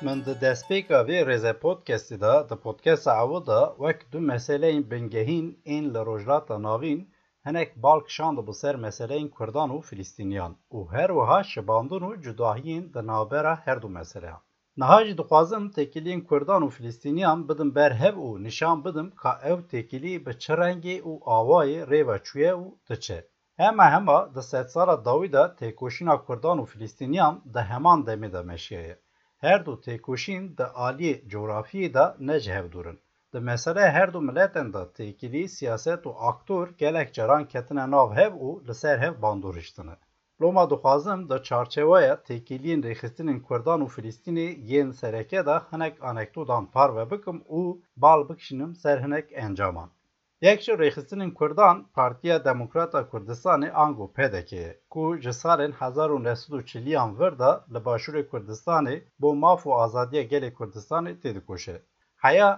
من د دسپیکا وی رزه پودکستی دا د پودکست عوض دا وک دو مسئله بنگهین این لروجلاتا ناوین هنک بالک شاند بسر مسئله کردان و فلسطینیان و هر وها شباندون و جداهین د نابرا هر دو مسئله. نهاجی دخوازم تکیلین کردان و فلسطینیان بدم برهب و نشان بدم که او تکیلی به چه رنگی و آوای ریو چویه و تچه. هما د 100 سالا داویدا تکوشینا کردان و فلسطینیان د همان دمی دا مشیه. Her du têkoşîn di aliyê coğrafiyê de necih durin. Di mesele her du miletên de têkilî, siyaset û aktor gelek caran ketine nav hev û li ser hev bandoriştine. Loma dixwazim di çarçeweya têkiliyên rêxistinên Kurdan û Filîstînê yên sereke de hinek anekdotan parve bikim û bal bikişinim ser hinek encaman. Yek ji rêxistinên Kurdan, Partiya Demokrata Kurdistanê ango PDK'ye ku ji salên 1940yan vir de li başûrê Kurdistanê bo maf û azadiya gelê Kurdistanê tê dikoşe. Heya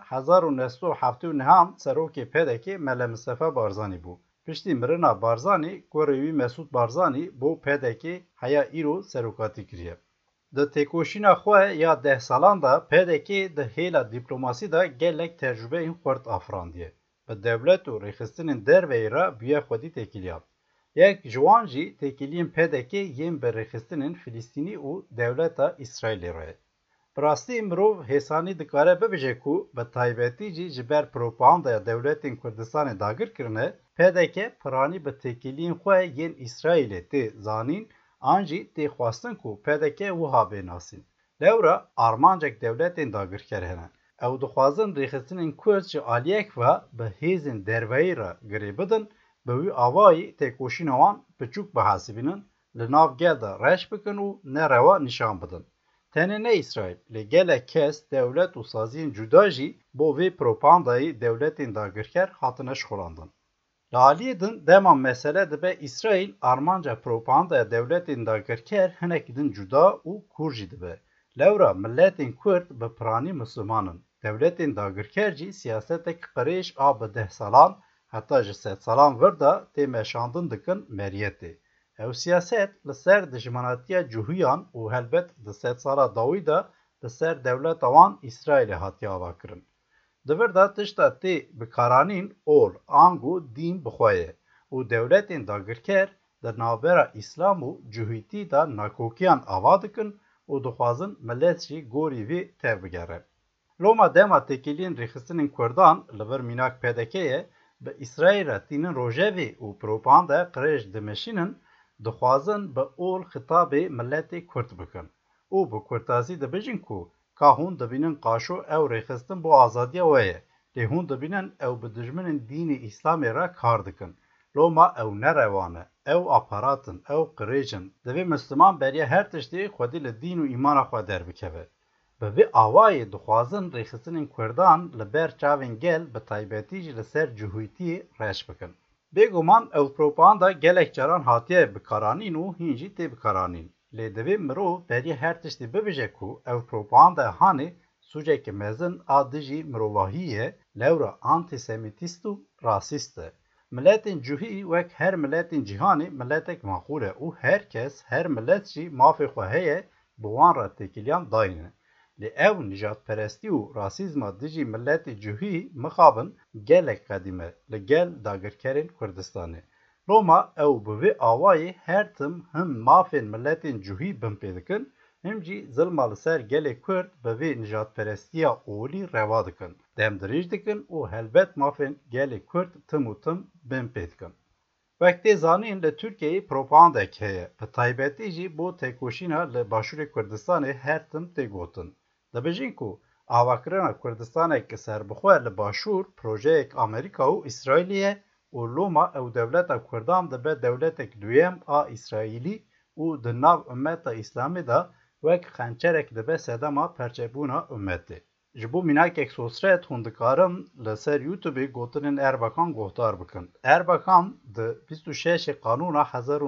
1979 serokê PDK Mele Mustafa Barzanî bû. Piştî mirina Barzanî, gorê wî Mesûd Barzanî bo PDK heya îro serokatî kiriye. Di têkoşîna xwe ya 10 salan da PDK di hêla dîplomasî de gelek tecrübeyên xurt afrandiye. Bi devlet û rêxistinên derveyê re bûye xwedî têkiliyan. Yek ji wan jî têkiliyên PDK yên bi rêxistinên Filîstînî û dewleta İsraîlê re ye. Bi rastî mirov hêsanî dikare bibêje ku bi taybetî jî ji ber propagandaya dewletên Kurdistanê dagir kirine, PDK piranî bi têkiliyên xwe yên İsraîlê tê zanîn an jî tê xwastin ku PDK wiha bênasîn. Lewra armancek dewletên dagirker hene. Ew dixwazin rêxistinên Kurd ji aliyek ve bi hêzên derveyî re girê bidin, bi wî awayî têkoşîna wan piçûk bihesibînin, li nav gel de reş bikin û nereva nîşan bidin. Tenê ne İsraîl, lê gelek kes dewlet û saziyên cuda jî bo vê propagandayê dewletên dagirker hatine şixulandin. Li aliyê din dema mesele dibe İsraîl armanca propagandaya dewletên dagirker hinek din cuda û kûr jî dibe. Lewra milletên Kurd bi piranî Müslümanin. Devletên dagirker jî siyasetek qirêj a bi 10 salan heta ji 100 salan vir de tê meşandin dikin meriyetê. Ew siyaset li ser dijminatiya cihûyan û helbet di 100 sala dawî de li ser dewleta wan İsraîlê hatiye avakirin. Di vir de tişta tê bikaranîn ol, ang û dîn bixwe ye û dewletên dagirker di navbera İslam û cihûtî de nakokiyan ava dikin û dixwazin millet jî gorî vê tev bigere. Loma dema têkiliyên rêxistinên Kurdan li vir mînak PDK'ye bi İsraîl re tînin rojevê û propagandaya qirêj dimeşînin, dixwazin bi ol xitabê milletê Kurd bikin û bi kurtazî dibêjin ku ka hûn dibînin qaşo ew rêxistin bo azadiya we ye, lê hûn dibînin ew bi dijminên dînê İslamê re kar dikin. Loma ew nerevan e, ew aparatin, ew qirêjin. Divê Müslüman beriya her tiştê xwedî li dîn û îmana xwe derbikeve. Bi vê awayê dixwazin rêxistinên Kurdan li ber çavên gel bi taybetî jî li ser cihûtiyê reş bikin. Bêguman ew propaganda gelek caran hatiye bikaranîn û hîn jî tê bikaranîn. Lê divê mirov beriya her tiştê bibêje ku ew propagandaya hanê sûcekê mezin a dijî mirovahiyê ye, lewra antisemitîst û rasîst e. Milletên cihî wek her milletên cîhanê milletek maqûl e û her kes, her millet jî mafê xwe heye bi wan re têkiliyan dayîne. Lê ew nijadperestî û rasîzma dijî milletê cihî mixabin gelek qedîm e li gel dagirkerên Kurdistanê. Loma ew bi vê awayê her tim him mafên milletên cihî bin pê dikin, him jî zilma li ser gelê Kurd bi vê nijadperestiya olî reva dikin, demdirêj dikin û helbet mafên gelê Kurd tim û tim bin pê dikin. Wek tê zanîn li Tirkiyeyê propagandek heye, bi taybetî jî bo têkoşîna li başûrê Kurdistanê her tim tê gotin. Dibêjin ku avakirina Kurdistaneke serbixwe li başûr projeyek Amerîka û İsraîlê ye û loma ew dewleta Kurdan dibe dewletek duyem a İsraîlî û di nav ummeta İslamê de wek xençerek dibe sedema perçebûna ummetê. Ji bo mînakek sosret hûn dikarin li ser YouTubeê gotinên Erbakan guhdar bikin. Erbakan di 26 Qanûna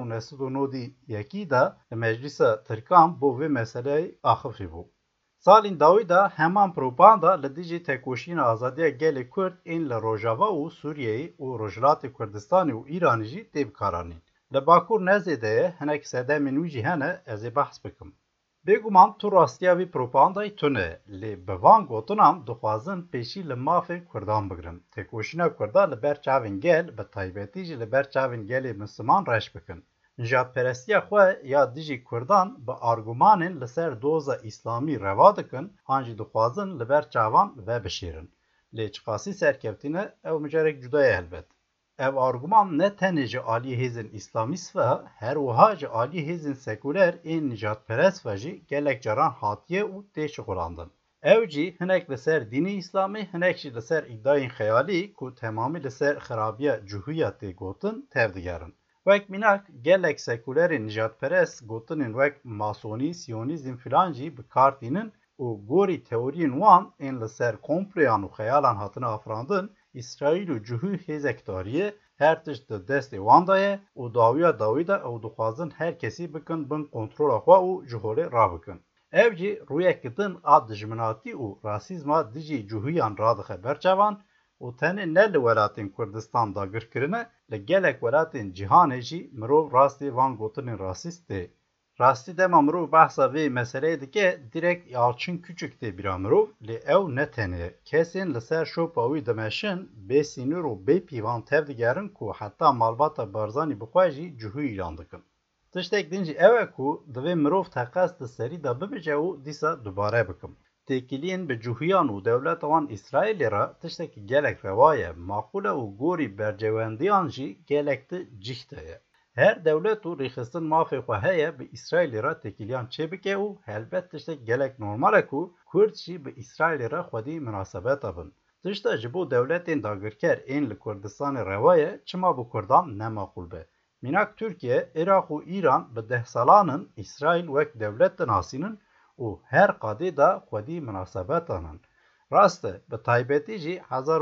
1991 de li Meclisa Tirkan bo vê meseleyê axivî bû. Salên dawî de heman propaganda li dijî têkoşîna azadiya gelê Kurd ên li Rojava û Sûriyeyê û Rojhilatê Kurdistanê û Îranê jî tê bikaranîn. Li Bakur Nezê de ye hinek sedemên wî jî hene ez ê behs bikim. Bêguman tu rastiya vî propagandayê tune, lê bi van gotinan dixwazin pêşî li mafên Kurdan bigirin. Têkoşîna Kurdan li ber çavên gel, bi taybetî jî li ber çavên gelê Misliman reş bikin. Nijadperestiya xwe ya dijî Kurdan bi argûmanên li ser doza îslamî reva dikin, an jî dixwazin li ber çavan vebişêrin. Lê çiqasî serkevtîne ew micarek cuda ye helbet. Ev argûman ne tenê ji aliyê hêzên îslamîst ve her wiha ji aliyê hêzên sekûler ên nijadperest ve jî gelek caran hatiye û tê şixulandin. Ew jî hinek li ser dînê îslamî, hinek jî li ser îdayên xeyalî ku temamî li ser xirabiya cihûya tê gotin tev digerin. Wek mînak gelek sekûlerên nijadperest gotinên wek masonî, siyonîzm filan jî bi kar tînin û gorî teoriyên wan ên li ser komployan û xeyalan hatine afirandin, İsraîl û cihû hêzekdariyê her tişt di destê wan de ye û dawiya dawî de ew dixwazin her kesî bikin bin kontrola xwe û ji holê rabikin. Ev jî rûyekî din a dijminatî û rasîzma dijî cihûyan radixe berçavan û tenê ne li welatên Kurdistan dagirkirine, li gelek welatên cîhanê jî mirov rastî van gotinên rasîst tê. Rastî dema mirov behsa vê meseleyê dike, direkt Yalçın Küçük tê bîra mirov, lê ew ne tenê. Kesên li ser şopa wî dimeşin, bê sînor û bê pîvan tev digerin ku heta malbata Barzanî bi xwe jî cihû îlan dikin. Tiştek din jî ew e ku divê mirov teqes di serî de bibice û dîsa dubare bikim. Têkiliyên bi cihûyan û dewleta wan İsraîlê re tiştekî gelek reva ye, maqûl e û gorî bercewendiyan jî gelek di cih de ye. Her dewlet û rêxistin mafê xwe heye bi İsraîlê re têkiliyan çêbike û helbet tiştek gelek normal e ku Kurd jî bi İsraîlê re xwedî münasebeta bin. Tişta ji bo dewletên dagirker ên li Kurdistanê reva ye, çima bu Kurdan ne maqûl be. Mînak Tirkiye, Iraq û Îran bi deh salanin İsraîl wek dewlet dinasînin û her qadê de xwedî münasebetanin. Rast e, bi taybetî jî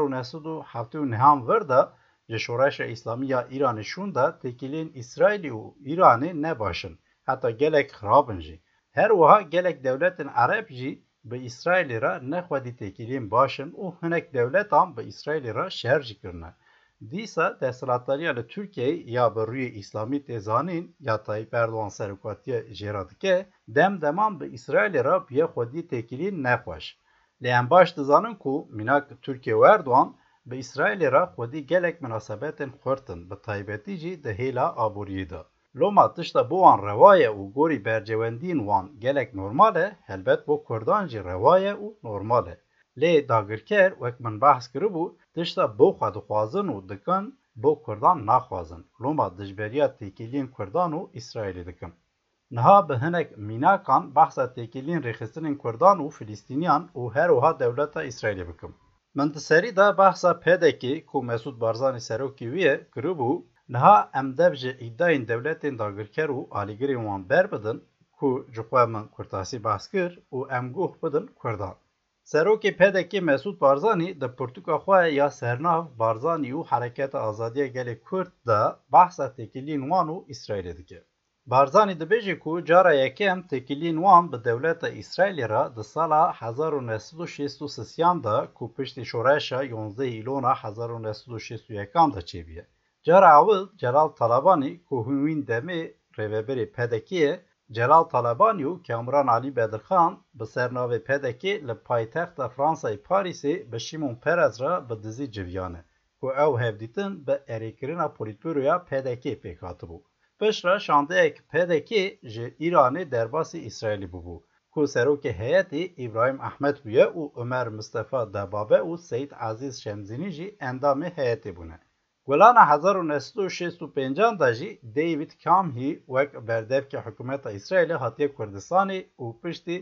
1979 vir de ji şoreşa İslamî ya Îranê şûn de têkiliyên İsraîlê û Îranê ne başin, heta gelek xirabin jî. Her wiha gelek dewletên Ereb jî bi İsraîlê re ne xwedî têkiliyên başin û hinek dewletan bi İsraîlê re şer jî kirine. Dîsa desthilatdariya li Tirkiyeyê ya bi rûyê İslamî tê zanîn ya Tayyip Erdogan serokatiya jêra dike, demdeman bi İsraîlê re biye xwedî têkiliyên nexweş. Lê em baş dizanin ku mînak Tirkiye û Erdogan bi İsraîlê re xwedî gelek münasebetên xurtin, bi taybetî jî di hêla aboriyê de. Loma tişta bo wan reva ye û gorî bercewendiyên wan gelek normal e, helbet bo Kurdan jî reva ye û normal e. Lê dagirker wek min behs kiribû, tişta bo xwe dixwazin û dikin, bo Kurdan naxwazin. Loma dijberiya têkiliyên Kurdan û İsraîlê dikin. Niha bi hinek mînakan behsa têkiliyên rêxistinên Kurdan û Filîstîniyan û her wiha dewleta İsraîlê bikim. Min di serî de behsa PDK ku Mesûd Barzanî serokê wî ye kiribû, niha em dev ji îdayên dewletên dagirker û alîgirên wan berbidin ku ji xwe min kurtasî behs kir û em guh bidin Kurdan. Serokê PDK Mesûd Barzanî di pirtûka xwe ya sernav Barzanî û Hereketa Azadiya Gelê Kurd de behsa têkiliyên wan û İsraîlê dike. Barzanî dibêje ku cara yekem têkiliyên wan bi dewleta İsraîlê re di sala 1963 de ku piştî şoreşa 11 îlona 1961 de çêbiye. Cara awil Celal Talabanî ku hûn demê rêveberê PDK ye, Celal Talabanî û Kamran Alî Bedirxan bi sernavê PDK li paytexta Fransayê Parîsê bi Şimon Perez re bi dizî civiyane ku ew hevdîtin bi erêkirina polîtbûroya PDK pêk hatibû. Piştre şandeyek PDK ji Îranê derbasî İsraîlê bûbû ku serokê heyetê İbrahim Ehmed bûye û Ömer Mustafa Debabe û Seyid Aziz Şemzînî jî endamê heyetê bûne. Gulana 1965 de jî David Kamhî wek berdevkê hikûmeta İsraîlê hatiye Kurdistanê û piştî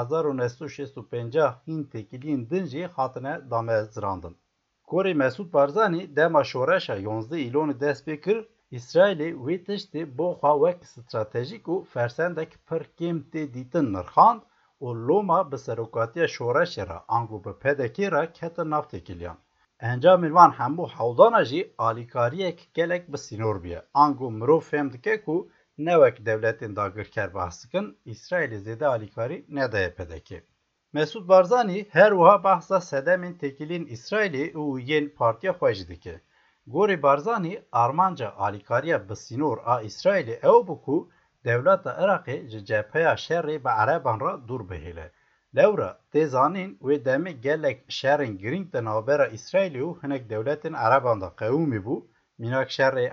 1965 hîn têkiliyên din jî hatine damezrandin. Gorî Mesûd Barzanî dema şoreşa 11 îlonê dest pê kir, İsraîlê wê tiştê bo xwe wek stratejîk û fersendek pir kêm tê dîtin nirxand û loma bi serokatiya şoreşê re ango bi PDK re ketin nav têkiliyan. Encamên wan hemû hewdana jî alîkariyek gelek bi sînor bûye. Ango mirov fêm dike ku ne wek dewletên dagirker behs dikin, İsraîlê zêde alîkarî nedaye PDK. Mesûd Barzanî her wiha behsa sedemên têkiliyên İsraîlê û yên partiya xwe jî dike. Gorî Barzanî armanca alîkariya bi sînor a İsraîlê ew bû ku devleta Iraqê ji cepheya şerê bi Ereban re dûr bihêle. Lewra tê zanîn wê demê gelek şerên giring di navbera İsraîlê û hinek dewletên Ereban de qewimî bû, mînak şerê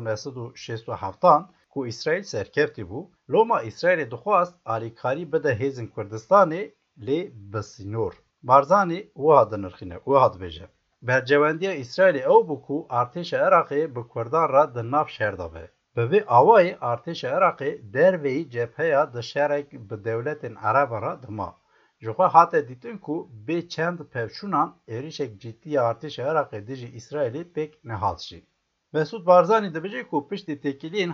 1967 ku İsraîl serkeftî bû, Loma İsraîlê dixwast alîkarî bide Hêzên Kurdistanê lê bi sînor. Barzanî wiha dinirxîne, wiha dibêje. Bercewendiya İsraîlê ew bû ku artêşa Iraqê bi Kurdan re di nav şer de be. Bi vê awayê artêşa Iraqê derveyî cepheya di şerek bi dewletên Ereban re dima. Ji xwe hate dîtin ku bê çend pevçûnan êrişek ciddi ya artêşa Iraqê dijî İsraîlê pêk nehat jî. Mesud Barzanî dibêje ku piştî têkiliyên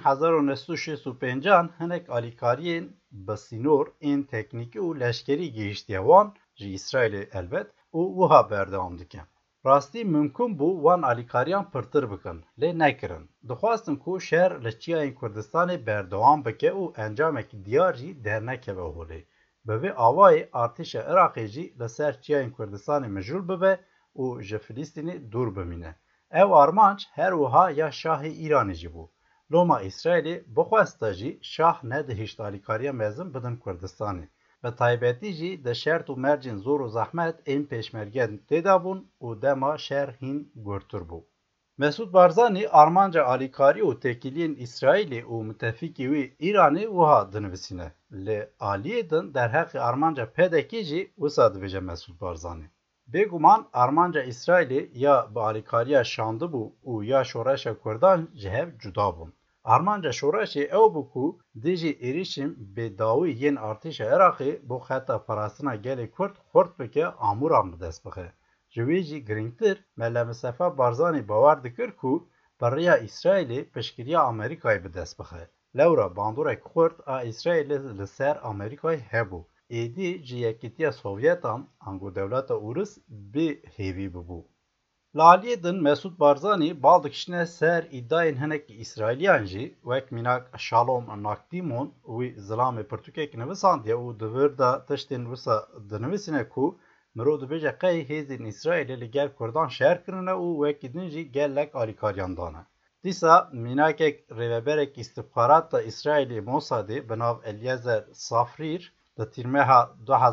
1965 hinek alîkariyên bi sînor ên teknîkî û leşkerî gihîştiye wan ji İsraîlê elbet û wiha berdewam dike. Rastî mümkün bû wan alîkariyan pirtir bikin, lê nekirin. Dixwastin ku şer li çiyayên Kurdistanê berdewam bike û encamekî diyar jî dernekeve holê. Bi vê awayê artêşa Iraqê jî li ser çiyayên Kurdistanê mijûl bibe û ji Filîstînê dûr bimîne. Ev armanc her wiha ya Şahê Îranê jî bû. Loma İsraîlê bixwesta jî şah nedihîşt alîkariya mezin bidin Kurdistanê. Bi taybetî jî di şert û mercên zor û zehmet ên pêşmerge têda bûn û dema şer hîn gurtur bû. Mesud Barzanî armanca alîkarî û têkiliyên İsraîlê û müttefikî wî Îranê wiha dinivîsîne. Lê aliyê din derheqê armanca pedekî jî wisa dibêje Mesud Barzanî. Bêguman armanca İsraîlê ya bi alîkariya şandibû û ya şoreşa Kurdan ji hev cuda bûn. Armanca şoreşê ew bû ku dijî êrişên bêdawî yên artêşa Iraqê bo xeta parastina gelê Kurd xurt bike amûran bi dest bixe. Ji wê jî girîngtir Mele Mustefa Barzanî bawer dikir ku biriya İsraîlê piştgiriya Amerîkayê bi dest bixe. Lewra bandorek Kurd a İsraîlê li ser Amerîkayê hebû. Êdî ji Yekîtiya Sovyetan ango dewleta Ûrûs bê hêvî bibû. Li aliyê din Mesud Barzanî bal dikişine ser îdayên hinekî İsraîliyan jî wek mînak Shalom Nakdîmon wî zilamê pirtûkek nivîsandiye û di vir de tiştên wisa dinivîsîne ku mirov dibêje qey hêzên İsraîlê li gel Kurdan şer kirine û wekî din jî gelek alîkariyan dane. Dîsa mînakek rêveberek îstixbarata İsraîlê Mossadê bi nav Eliezer Safrîr di tîrmeha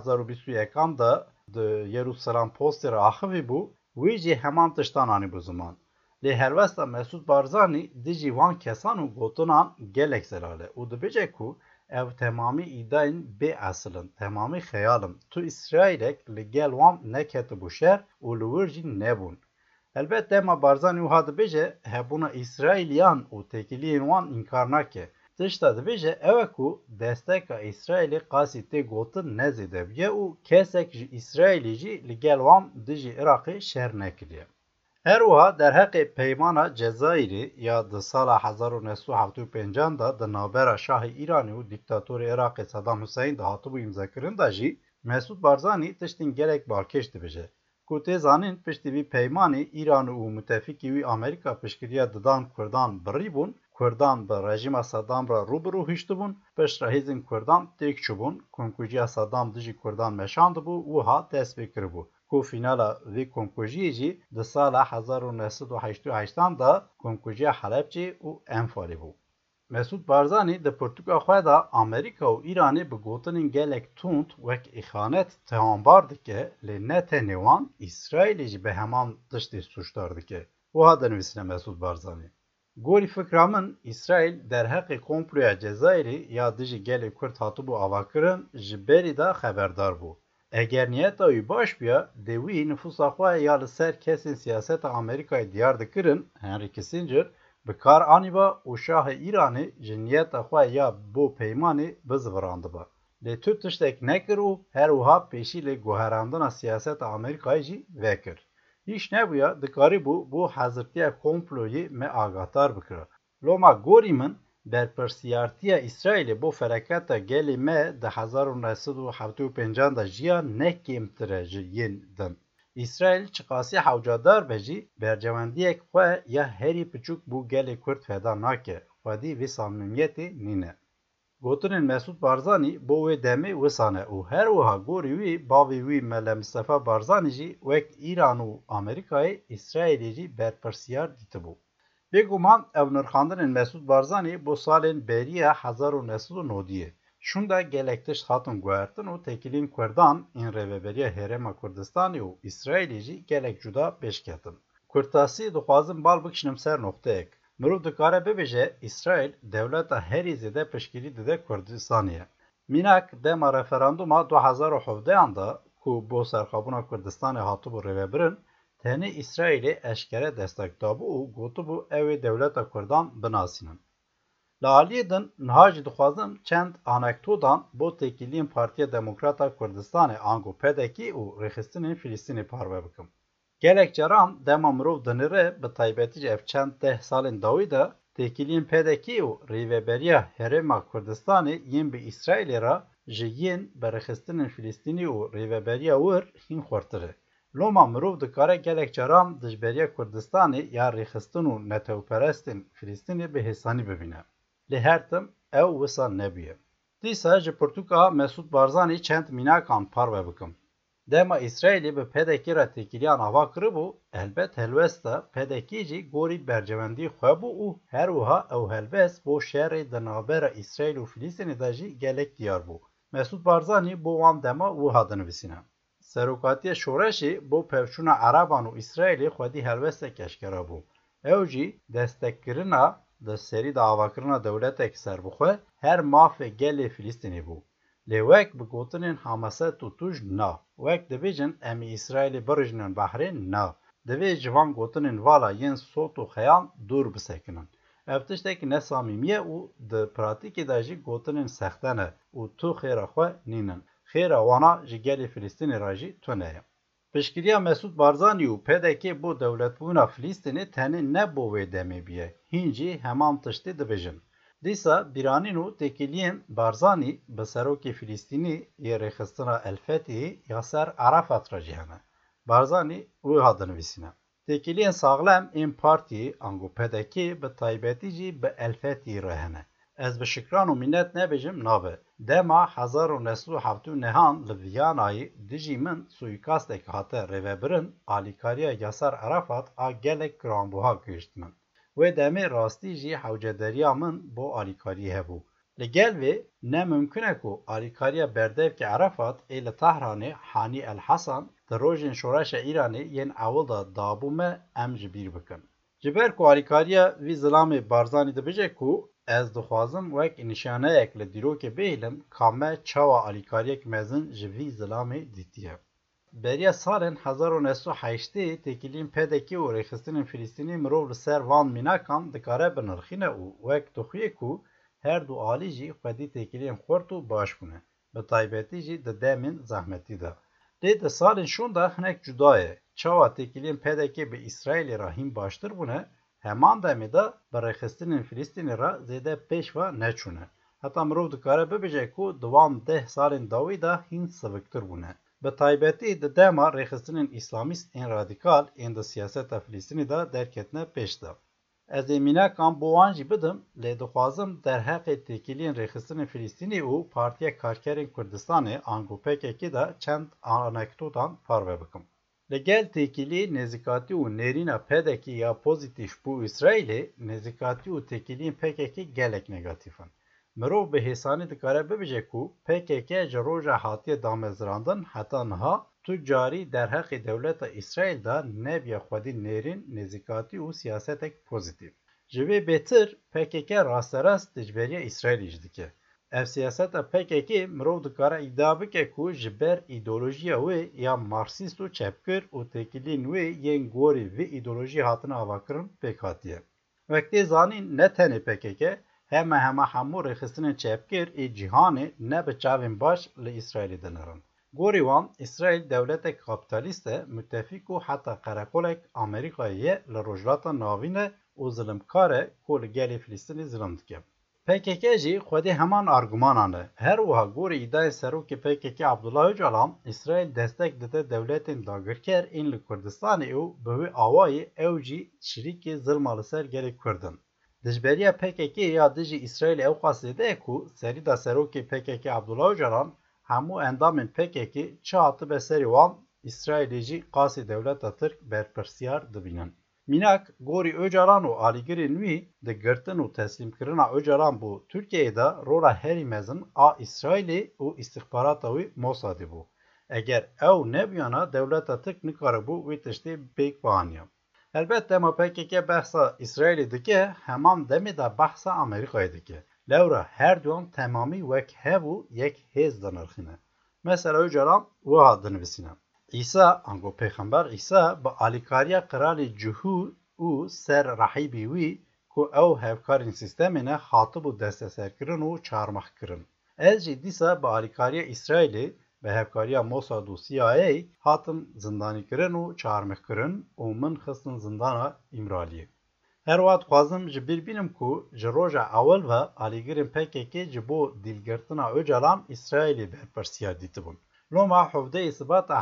2021 de di Yerusalem Postê re axivî bû, wî jî heman tiştan anî bu ziman. Lê helwesta Mesud Barzanî dijî wan kesan û gotinan gelek zelal e û dibêje ku ev temamî îdayên bê esil in, temamî xeyal in. Tu İsraîlek li gel wan neketibû şer û li wir jî nebûn. Elbet dema Barzanî wiha dibêje hebûna İsraîliyan û têkiliyên wan înkar nake. Tişta dibêje ew e ku desteka İsraîlê qasî tê gotin nezêde biye û kesek ji İsraîlê jî li gel wan dijî Iraqê şer nekiriye. Her wiha derheqê peymana Cezayirê ya di sala 1975 da di navbera Şahê Îranê û dîktatorê Iraqê Saddam Hüseyin de hatibû îmzakirin da jî Mesud Barzanî tiştên gelek balkêş dibêje. Ku tê zanîn piştî vî peymanê Îran û müttefikî wî Amerîka piştgiriya didan Kurdan birî bûn, Kurdan bi rejima Saddam re rûbirû hiştibûn, piştre hêzên Kurdan têk çûbûn, komkujiya Saddam dijî Kurdan meşandibû wiha dest pê kiribû. Ku fînala vê komkujiyê jî di sala 1988 da komkujiya Helepçê û Enfalê bû. Mesud Barzanî di pirtûka xwe da Amerîka û Îranê bi gotinên gelek tund wek îxanet tehambar dike, lê ne tenê wan İsraîlê jî bi heman tiştê suçdar dike. Wiha dinivîsine Mesud Barzanî. Gorî fikra min İsraîl derheqê komploya Cezayirê ya dijî gelê Kurd hatibû avakirin ji berî de xeberdar bû. Eger niyeta wî baş biya, dê wî nüfusa xwe ya li ser kesên siyaseta Amerîkayê diyar dikirin, Henry Kissinger, bi kar anîba û Şahê Îranê ji niyeta xwe ya bo peymanê bizîvirandibe. Lê tu tiştek nekir û her wiha pêşî lê guherandina siyaseta Amerîkayê jî vekir. Hiç nebûya dikarîbû bu hezirtiya komployê me agahdar bikire. Loma gorî min berpirsiyartiya İsraîlê bo fereketa gelê me di 1975 da jiya nekêmtir e ji yên din. İsraîl çiqasî hewcadar be jî bercewendiyek xwe ya herî piçûk bû gelê Kurd feda nake, xwedî vê samimiyetê nîne. Gotinên Mesud Barzanî bo wê demê wisa ne û her wiha gorî wî bavê wî Mele Mustefa Barzanî jî wek Îran û Amerîkayê İsraîlê jî berpirsiyar dîtibû. Bêguman ev nirxandinên Mesûd Barzanî bo salên bêriya 1990 şunda gelek tişt hatin guhertin û tekilîn Kurdan ên Rêveberiya Herêma Kurdistanê û İsraîlê jî gelek cuda pêşketin. Kurtasî dixwazin bal bikişînim ser nokteyek. Mirov dikare bibêje İsraîl dewleta herî zêde piştgirî dide Kurdistanê ye. Mînak dema referanduma 2017 da ku bo serxwebûna Kurdistanê hatibû rêvebirin, tenê İsraîlê eşkere destek dabû û gotibû ew ê dewleta Kurdan binasînin. Li aliyê din niha jî dixwazim çend anekdotan bo têkiliyên Partiya Demokrata Kurdistanê ango PDK û rêxistinên Filîstînê parve bikim. Gelek caran dema mirov dinire bi taybetî ji ev çend deh salên dawî de têkiliyên PDK û Rêveberiya Herêma Kurdistanê yên bi İsraîlê re ji yên bi rêxistinên Filîstînî û rêveberiya wir hîn xurtir e. Loma mirov dikare gelek caran dijberiya Kurdistanê ya rêxistin û netewperestên Filîstînê bi hêsanî bibîne. Lê her tim ew wisa nebûye. Dîsa ji pirtûka Mesûd Barzanî çend mînakan parve bikim. Dema İsraîlê bi PDK re têkiliyan ava kiribû, helbet helbest de PDK jî gorî bercewendiyê xwe bû û her wiha ew helbest bo şerê di navbera İsraîl û Filîstînê de jî gelek diyar bû. Mesûd Barzanî bo wan dema wiha dinivîsîne. Serokatiya Şoreşê bo pevçûna Eraban û İsraîlê xwedî helbestek eşkera bû. Ew jî destekkirina di serî de avakirina dewletek serbixwe her mafê gelê Filîstînê bû. Lê wek bi gotinên Hamaset û Tuj na. Wek dibêjin em ê İsraîlê birijinin behrê na. Divê ji van gotinên vala yên sot û xeyan dûr bisekinin. Ev tiştekî nesamîmî ye û di pratîkê de jî gotinên sexte ne û tu xêra xwe nînin. Xêra wana ji gelê Filîstînê re jî tune ye. Piştgiriya Mesûd Barzanî û PDK bo dewletbûna Filîstînê tenê ne bo wê demê bûye. Hîn jî heman tiştê dibêjin. Dîsa bîranîn û têkiliyên Barzanî bi serokê Filîstînî yê rêxistina El Fethî Yaser Arafat re jî hene. Barzanî wiha dinivîsîne. Têkiliyên saxlem ên partiyê ango PDK bi taybetî jî bi El Fethî re hene. Ez bi şikran û minnet nebêjim nabe. Dema 1979 li Viyanayê dijî min suîkastek hate rêvebirin, alîkariya Yaser Arafat a gelek giranbuha gihîşt min. Wê demê rastî jî hewcederiya min bo alîkariyê hebû. Li gel vê ne mümkün e ku alîkariya berdevkê Arafat ê li Tehranê Hanî El Hesan di rojên şoreşa Îranê yên ewil de dabû me em ji bîr bikin. Ji ber ku alîkariya vî zilamê Barzanî dibêje ku ez dixwazim wek nîşaneyek li dîrokê bihêlim ka me çawa alîkariyek mezin ji vî zilamê dîtiye. Beriya salên 1980 têkiliyên PDK û rêxistinên Filîstînî mirov li ser van mînakan dikare binirxîne û wek dixuye ku her du alî jî xwedî têkiliyên xurt û baş bûne, bi taybetî jî di demên zehmetî de. Lê di salên şûn de hinek cuda ye. Çawa têkiliyên PDK bi İsraîlê re hîn baştir bûne, heman demê de bi rêxistinên Filîstînê re zêde pêş ve neçûne. Heta mirov dikare bibêje ku di wan 10 salên dawî de hîn siviktir bûne. Bi taybetî di dema rêxistinên îslamîst ên radîkal ên di siyaseta Filîstînê de derketine pêş de. Ez ê mînakan bo wan jî bidim, lê dixwazim derheqê têkiliyên rêxistinên Filîstînê û Partiya Karkerên Kurdistanê ango PKK de çend anekdotan parve bikim. Li gel têkiliyê nêzîkatî û nêrîna PDK ya pozîtîv bû İsraîlê, nêzîkatî û têkiliyên PKK gelek negatifin. Mirov bi hêsanî dikare bibêje ku PKK ji roja hatiye damezrandin heta niha tu carî derheqê dewleta İsraîl de nebiye xwedî nêrîn, nêzîkatî û siyasetek pozîtîv. Ji vê bêtir PKK rasterast dijberiya İsraîlê jî dike. Ev siyaseta PKK mirov dikare îdia bike ku ji ber îdeolojiya wê ya Marksîst û çepkir û têkiliyên wê yên gorî vê îdeolojiyê hatine avakirin pêk hatiye. Wek tê zanîn ne tenê PKK, hema hemû rêxistinên çepkir ê cîhanê ne bi çavên baş li Îsraîlê dinirin. Gorî wan İsraîl dewletek kapitalîst e, müttefîk û heta qerekolek Amerîkayê ye li rojhilata navîn e û zilimkar e ku li gelê Filîstînê zilim dike. PKK jî xwedî heman argûmanan e. Her wiha gorî îdayê serokê PKK Abdullah Öcalan, İsraîl destek dide dewletên dagirker ên li Kurdistanê û bi wê awayê ew jî şirîkê zilma li ser gelê Kurdin. Dijberiya PKK ya dijî İsraîlê ew qas zêde ye ku serî da serokê PKK Abdullah Öcalan hemû endamên PKK çi hatibe serî wan, İsraîlê jî qasê dewleta Tirk berpirsiyar dibînin. Minak gori Öcalan û alîgirên wî di girtin û teslîmkirina Öcalan bû Tirkiyeyê de rola herî mezin a İsraîlê û îstixbarata wî Mossadê bû. Eger ew nebûyana dewleta Tirk nikaribû wê tiştê pêk bianiya. Elbet dema PKK behsa İsraîlê dike, heman demê de behsa Amerîkayê dike. Lewra her duyan temamî wek hev û yek hêz dinirxîne. Mesela Öcalan wiha dinivîsîne. İsa, ango peyxember İsa bi alîkariya Kralê Cihû û ser rahîbê wî ku ew hevkarên sîstemê ne hatibû desteserkirin û çarmixkirin. Ez jî dîsa bi alîkariya İsraîlê bi hevkariya Mossad û CIA hatim zindanîkirin û çarmixkirin û min xistin zindana İmraliyê. Her wat dixwazim ji bîr bînim ku ji roja ewel ve alîgirên PKK ji bo dîlgirtina Öcalan İsraîlê berpirsiyar dîtibûn. Loma hevdeyê Sibata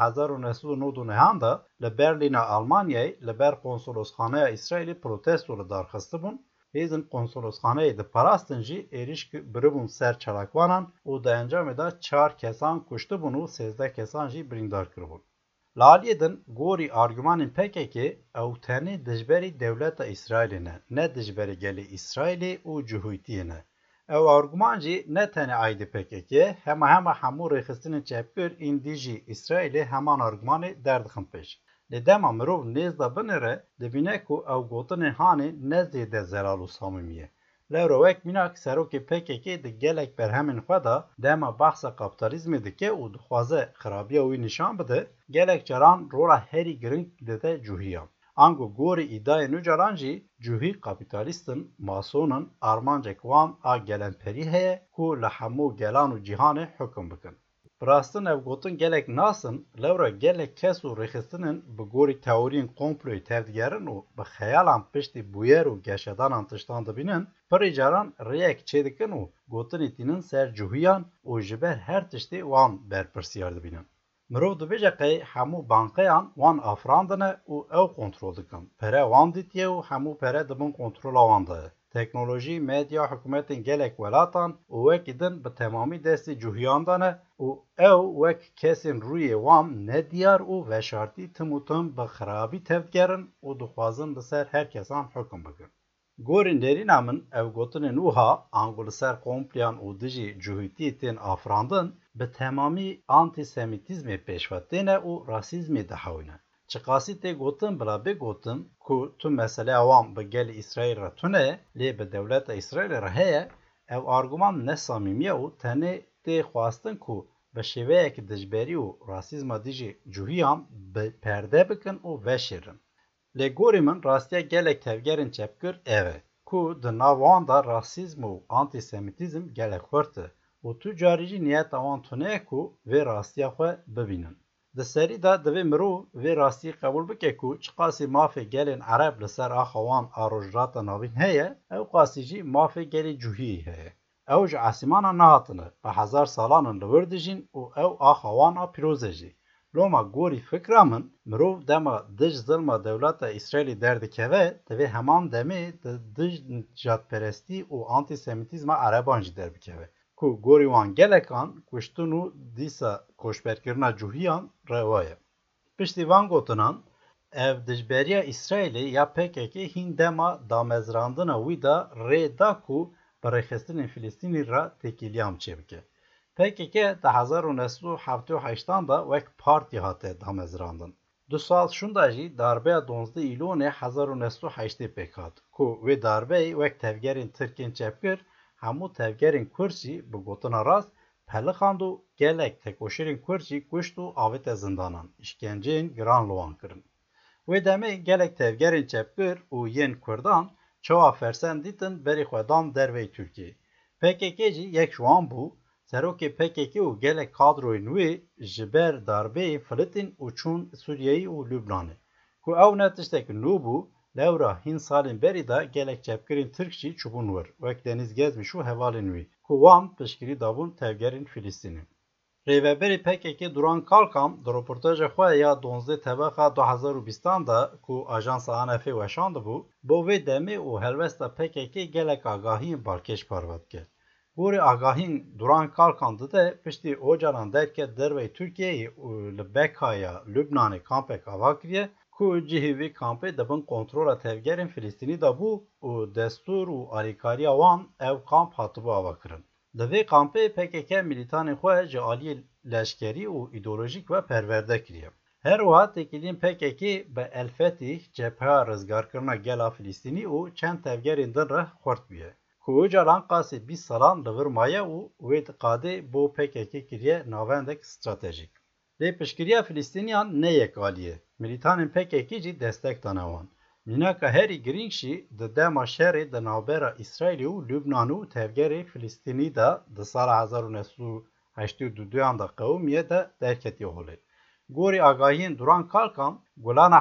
1999 da li Berlîna Almanyayê li ber konsolosxaneya İsraîlê protesto li darxistibûn, hêzên konsolosxaneyê diparastin jî êriş biribûn ser çalakvanan û di encamê de 4 kesan kuştibûn û 13 kesan jî birîndar kiribûn. Li aliyê din gorî argümanên PKK ew tenê dijberî dewleta İsraîlê ne dijberî gelê İsraîlê û cihûtiyê ne. Ew argüman jî ne tenê aîdî PKK'ye, hema hemû rêxistinên çepkir îndî jî İsraîlê heman argümanê derdixin pêş. Lê dema mirov nêz da binêre, dibîne ku ew gotinên hanê ne zêde zelal û samîmî ye. Lewra wek mînak serokê PKK di gelek berhemên xwe de dema behsa kapitalizmê dike û dixwaze xirabiya wî nîşan bide, gelek caran rola herî giring dide cûhiya. Ango gorî îdayên Öcalan jî cûhî kapitalîstin, masonin, armancek wan a gelenperî heye ku li hemû gelan û cîhanê hukm bikin. Bi rastin ev gotin gelek nasin, lewra gelek kes û rêxistinên bi gorî teoriyên komployê tevdigerin û bi xeyalan piştî bûyer û geşedanan tiştan dibînin, pirî caran rêyek çêdikin û gotinê tînin ser cûhiyan û ji ber her tiştê wan berpirsiyar dibînin. Mirov dibêje qey hemû bankeyan wan afirandine û ew kontrol dikin. Pere wan dîtiye û hemû pere dibin kontrola wan de ye. Teknolojî, medya, hikûmetên gelek welatan û wekî din bi temamî destê cûhiyan de ne û ew wek kesên rûyê wan nediyar û veşartî tim û tim bi xirabî tevdigerin û dixwazin li ser her kesan hukm bikin. Gorên derîna min ev gotinên wiha ango li ser komployan û dijî cûhîtiyê tên afirandin bi temamî antîsemitîzmê pêşve têne û rasîzmê dihewîne. Çi qasî tê gotin bila bêgotin ku tu meseleya wan bi gelê İsraîl re tune lê bi dewleta İsraîlê re heye, ev argüman ne samîmiye û tenê tê xwastin ku bi şêweyekî dijberî û rasîzma dijî cûhiyan bi perde bikin û veşêrin. Lê gorî min rastiya gelek tevgerên çepkir ev e ku di nav wan de rasîzm û antîsemitîzm gelek xurt e û tu carî jî niyeta wan tune ye ku vê rastiya xwe bibînin. Di serî de divê mirov vê rastiyê qebûl bike ku çi qasî mafê gelên Ereb li ser axa wan a rojhilata navîn heye, ew qasî jî mafê gelê cûhiyê heye. Ew ji esîmanan nehatine, bi hezar salanan li wir dijîn û ew axa wan a pîroz jî. Loma gorî fikra min, mirov dema dij zilma dewleta İsraîlê derdikeve, divê heman demê di dij nijadperestî û antîsemitîzma Ereban jî derbikeve. Ku gorî wan gelekan kuştin û dîsa koçberkirina cûhiyan reva ye. Piştî van gotinan, ev dijberiya İsraîlê ya PKK hîn dema damezrandina wî da rê da ku bi rêxistinên Filîstînî re têkîliyan çêbike. PKK di 1978 da wek partî hate damezrandin. Du sal şunda jî darbeya 12 îlonê 1980 pêk hat ku wê darbeyê wek tevgerên Tirkên çepkir hemû tevgerên Kurd jî bi gotina rast pelixand û gelek tekoşîrên Kurd jî kuşt û avête zindanan, işkenceyên giran li wan kirin. Wê demê gelek tevgerên çepkir û yên Kurdan çawa fersend dîtin berê xwe dan derveyê Tirkiyeyê. PKK jî yek ji wan bû. Serokê PKK û gelek kadroyên wê ji ber darbeyê Filîtîn û çûn Sûriyeyê û Lübnanê. Ku ew ne tiştekî nû bû, lewra hîn salên berî de gelek çepkirên Tirk jî çûbûn wir, wek Deniz Gezmiş û hevalên wî, ku wan piştgirî dabûn tevgerên Filîstînê. Rêveberê PKK Duran Kalkan di rûportaja xwe ya 12 Tebeqa 2020 da ku ajansa ANF weşandibû, bo vê demê û helbesta PKK gelek agahiyên balkêş parve dike. Gorî agahîn Duran Kalkan dide piştî Öcalan derket derveyê Tirkiyeyê û li Bekaya Lübnanê kampek ava kiriye ku cihê vê kampê dibin kontrola tevgerên Filîstînî de bû û destûr û alîkariya wan ev kamp hatibû avakirin. Li vê kampê PKK milîtanên xwe ji aliyê leşkerî û îdeolojîk ve perwerde kiriye. Her wiha têkiliyên PKK bi El Fetih, Cepheya Rizgarkirina Gela Filîstînî û çend tevgerên din re xwert bûye. Ku caran qasî 20 salan li vir maye û wê diqadê bo PKK kiriye navendek stratejîk. Lê piştgiriya Filîstîniyan ne yekalî ye. Milîtanên PKK jî destek dane wan. Mînaka herî girîng jî di dema şerê di navbera İsraîlê û Lübnan û tevgerê Filîstînî de di sala 1982 da qewmiye de derketiye holê. Gorî agahiyên Duran Kalkan, Gulana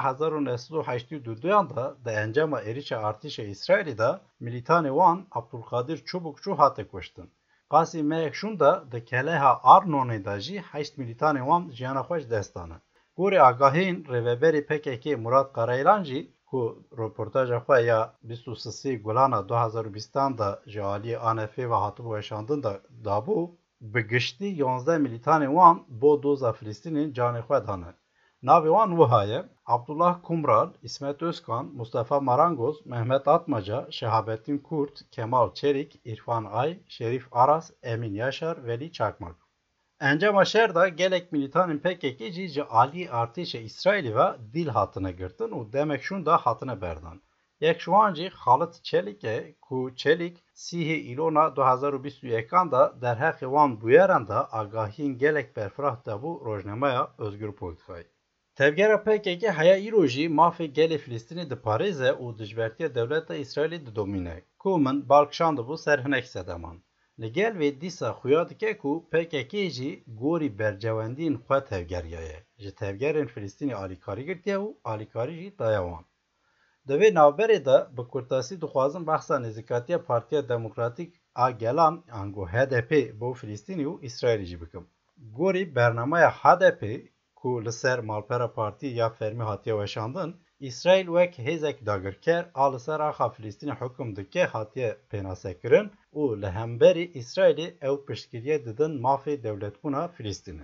1982 da di encama êrişa artîşa İsraîlê de milîtanê wan Abdulkadir Çubukçu hate kuştin. Qasî meyek şûn da di keleha Arnonê de jî 8 milîtanê wan jiyana xwe ji dest dane. Gorî agahiyên rêveberê PKK Murat Karaylan jî ku röportaja xwe ya 23 Gulana 2020 da ji aliyê ANF ve hatibû weşandin da dabû, bi giştî 11 milîtanên wan bo doza Filîstînên canê xwe dane. Navê wan wiha ye: Abdullah Kumral, İsmet Özkan, Mustafa Marangoz, Mehmet Atmaca, Şehabettin Kurt, Kemal Çelik, İrfan Ay, Şerif Aras, Emin Yaşar, Veli Çakmak. Encama şer da gelek milîtanên PKK jî ji aliyê artêşa İsraîlê ve dîl hatine girtin û demek şûn da hatine berdan. Yek ji wan jî Xalit Çelik e ku Çelik sîhê îlona 2021 da derhexê wan bûyeran da agahiyên gelek berfirah dabû rojnameya Özgür Politikayê. Tevgera PKK heya îro jî mafê gelê Filîstînê diparêze û dijbertiya dewleta İsraîlê diddomîne ku min balkişandibû ser hinek sedeman. Li gel vê dîsa xuya dike ku PKK jî gorî bercewendiyên xwe tevgeriya ye. Ji tevgerên Filîstînê alîkarî girtiye û alîkarî jî daya wan. Di vê navberê de bi kurtasî dixwazim behsa nêzîkatiya Partiya Demokratîk a Gelan ango HDP bo Filîstînê û İsraîlê jî bikim. Gorî bernameya HDP ku li ser malpera partî ya fermî hatiye weşandin, İsraîl wek hêzek dagirker a li ser axa Filîstînê hukm dike hatiye pênasekirin û li hemberî İsraîlê ew piştgiriye didin mafê dewletbûna Filîstînê.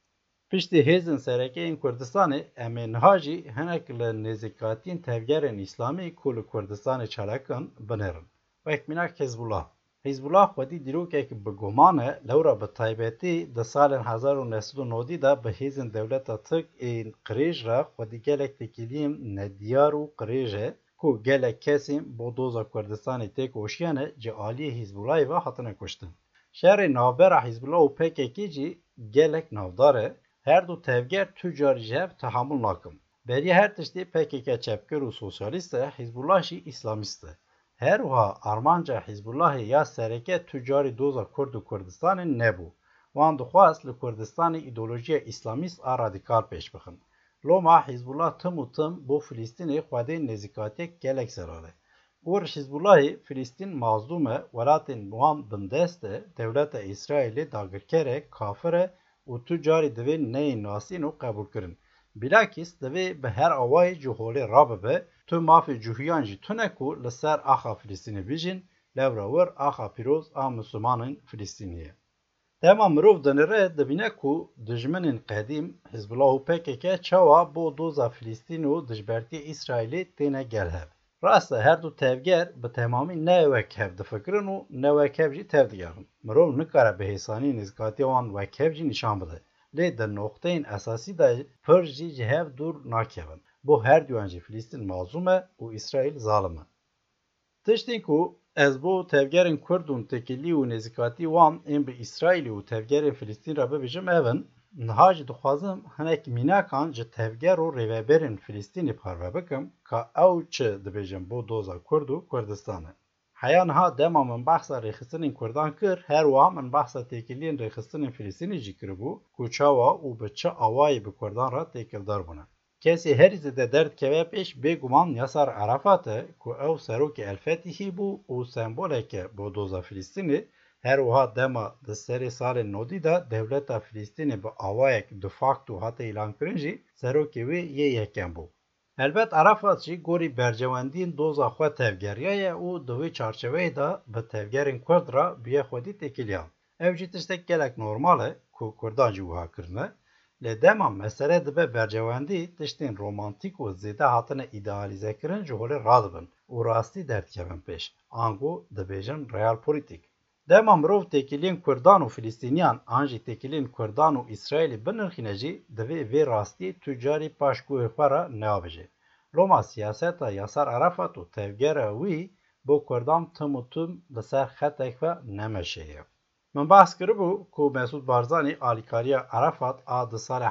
Piştî hêzên serekeyên Kurdistanê em ê niha jî hinek li nêzîkatiyên tevgerên İslamî ku li Kurdistanê çalakin binêrin. Wek mînak Hizbullah. Hizbullah xwedî dîrokek bi guman e lewra bi taybetî di salên 1990 de bi hêzên dewleta Tirk ên qirêj re xwedî gelek têkiliyên nediyar û qirêj e ku gelek kesên bo doza Kurdistanê tê koşiyane ji aliyê Hizbullahê ve hatine kuştin. Şerê navbera Hizbullah û PKK jî gelek navdar e. Her du tevger tüccarî ji hev tehamül nakim. Beriya her tiştî PKK çepkir û sosyalîst e, Hizbullah jî İslamîst e. Her wiha armanca Hizbullahê ya sereke tüccarî doza Kurd û Kurdistanê nebû. Wan dixwast li Kurdistanê îdeolojiya İslamîst a radikal pêş bixin. Loma Hizbullah tim û tim bo Filîstînê xwedên nêzîkatiyek gelek zerar e. Gor Hizbullahê Filîstîn mazlûm e, welatên wan bindest e, dewleta İsraîlê dagirker e, kafir e û tu carî divê neyên nasîn û qebûlkirin. Bilakîs divê bi her awayê ji holê rabibe, tu mafê cûhiyan jî tune ku li ser axa Filîstînê bijîn, lewra wir axa pîroz a Mislimanên Filîstînî ye. Dema mirov dinire dibîne ku dijminên qedîm Hizbullah û PKK çawa bo doza Filîstîn û dijbertiya İsraîlê têne gelhev. Rast e her du tevger bi temamî ne wekhev difikirin û ne wekhev jî tev digerin. Mirov nikare bi hêsanî nêzîkatiya wan wekhev jî nîşan bide. Lê di noqteyên esasî de pir jî ji hev dûr nakevin. Bo her duyan jî Filîstîn mazlûm e û İsraîl zalim e. Tiştên ku ez bo tevgerên Kurd û tekilî û nêzîkatî wan ên bi İsraîlê û tevgerên Filîstîn re bibêjim ev in, niha jî dixwazim hinek mînakan ji tevger û rêveberên Filîstînê parve bikim ka ew çi dibêjin bo doza Kurd û Kurdistanê. Heya niha dema min behsa rêxistinên Kurdan kir, her wiha min behsa têkiliyên rêxistinên Filîstînê jî kiribû ku çawa û bi çi awayê bi Kurdan re têkildar bûne. Kesê herî zêde derdkeve pêş bêguman Yasar Arafat e ku ew serokê El Fetihî bû û sembolek e bo doza Filîstînê, her wiha dema di serê salên nodî de dewleta Filîstînê bi awayek de facto hate îlankirin jî serokê wê yê yekem bû. Helbet Arafat jî gorî bercewendiyên doza xwe tevgeriya ye û di wê çarçeveyê de bi tevgerên Kurd re bûye xwedî têkiliyan. Ev jî tiştek gelek normal e ku Kurdan jî wiha kirine. Li dema mesele dibe bercewendî tiştên romantik û zêde hatine îdealîzekirin ji holê radibin û rastî derdikevin pêş. Ango dibêjin realpolitik. Dema mirov têkiliyên Kurdan û Filîstîniyan an jî têkiliyên Kurdan û İsraîlê binirxîne jî divê vê rastiyê tu carî paş guhê xwe re neavêje. Roma siyaseta Yasar Arafat û tevgera wî bo Kurdan tim û tim li ser xetek xwe nemeşeye. Min behs kiribû ku Mesûd Barzanî alîkariya Arafat a di salê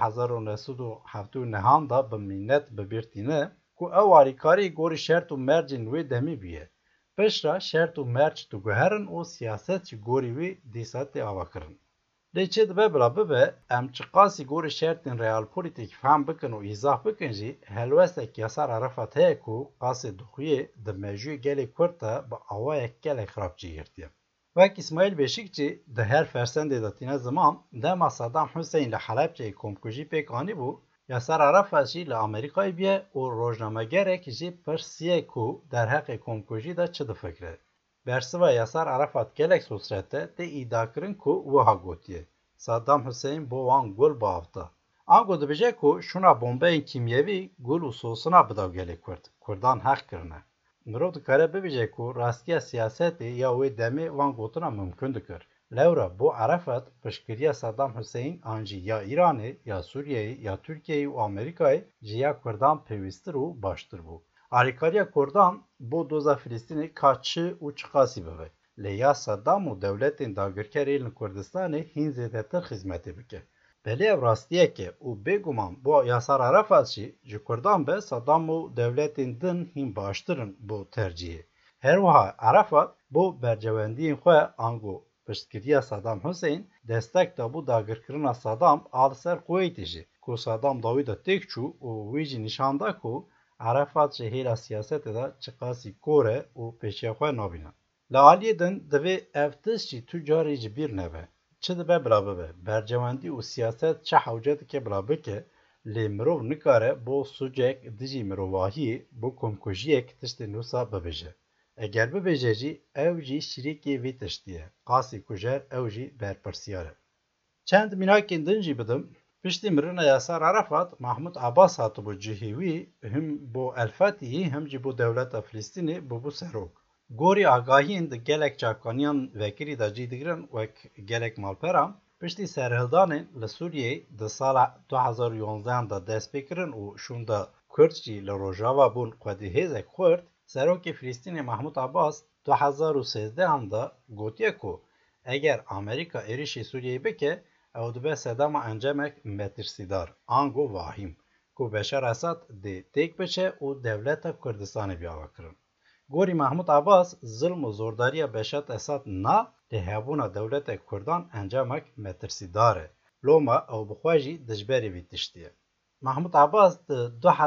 1979 da bi mînet bibîrtîne ku ew alîkarî gorî şert û mercên wê demî bûye. Piştre şert û merc diguherin û siyaset ji gorî wê dîsa tê avakirin. Lê çi dibe bila bibe em çi qasî gorî şertên realpolitîk fehm bikin û îzah bikin jî helwestek Yasar Arafat heye ku qasê dixuye di mejûyê gelê Kurd de bi awayek gelek xirab cîgirtiye. Wek İsmail Beşikçi di her fersendê de tîne ziman dema Saddam Hüseyin li Helepçeyê komkujî pêk anîbû, Yasar Arafat jî li Amerîkayê bûye û rojnamegerek jî pirsiye ku derheqê komkujî de çi difikire. Bersiva Yasar Arafat gelek sosrete tê îdakirin ku wiha gotiye. Saddam Hüseyin bo wan gul biavta. Ango dibêje ku şûna bombeyên kîmyevî gul û sosina bidaw gelê Kurd. Kurdan heq kirine. Mirov dikare bibêje ku rastiya siyasetê ya wê demê van gotina mümkün dikir. Lewra bo Arafat piştgiriya Saddam Hüseyin an jî ya İranê ya Sûriyeyê ya Tirkiyeyê û Amerîkayê ji ya Kurdan pêwîstir û baştir bû. Alîkariya Kurdan bo doza Filîstînê ka çi û çi qasî bibe. Lê ya Saddam û dewletên dagirkerê li Kurdistanê hîn zêdetir xizmetê bike. Belê ev rastiyek e û bêguman bo Yasar Arafat jî ji Kurdan be Saddam û dewletên din hîn baştirin bo tercihê. Her wiha Arafat bo bercewendiyên xwe ango piştgiriya Saddam Hüseyin destek da bû dagirkirina Saddam a li ser Kuweytê jî ku Saddam da wî de têk çû û wî jî nîşan da ku Arafat ji hêla siyasetê de çi qasî kor e û pêşiya xwe nabîne. Li aliyê din divê ev tişt jî tu carî ji bîr nebe. Çi dibe bila bibe, bercewendî û siyaset çi hewce dike bila bike, lê mirov nikare bo sucek dijî mirovahiyê bo komkujiyek tiştê nûsa bibêje. Eger bibêje jî ew jî şîrêkê vê tiştî ye. Qasî kujer ew jî berpirsiyar e. Çend mînakên din jî bidim. Piştî mirina Yasar Arafat, Mahmud Abbas hatibû cihê wî him bo Elfetihî him jî bo dewleta Filîstînê bûbû serok. Gorî agahiyên di gelek çavkaniyan vekirî de cî digirin wek gelek malperan, piştî serhildanên li Sûriyeyê di sala 2011 da dest pêkirin û şûn de Kurd jî li Rojava bûn xwedî hêzek xurt, serokê Filîstînê Mahmud Abbas 2013 da gotiye ku eger Amerîka êrişê Sûriyeyê bike, ew dibe sedema encemek metirsîdar, ango vahîm, ku Beşar Esad dê têk biçe û dewleta Kurdistanê biavekirin. Gorî Mahmud Abbas zilm û zordariya Beşar Esad na lê hebûna dewletê Kurdan encemek metirsîdar e. Loma ew bi xwe jî dijberê vî tiştî ye. Mahmud Abbas di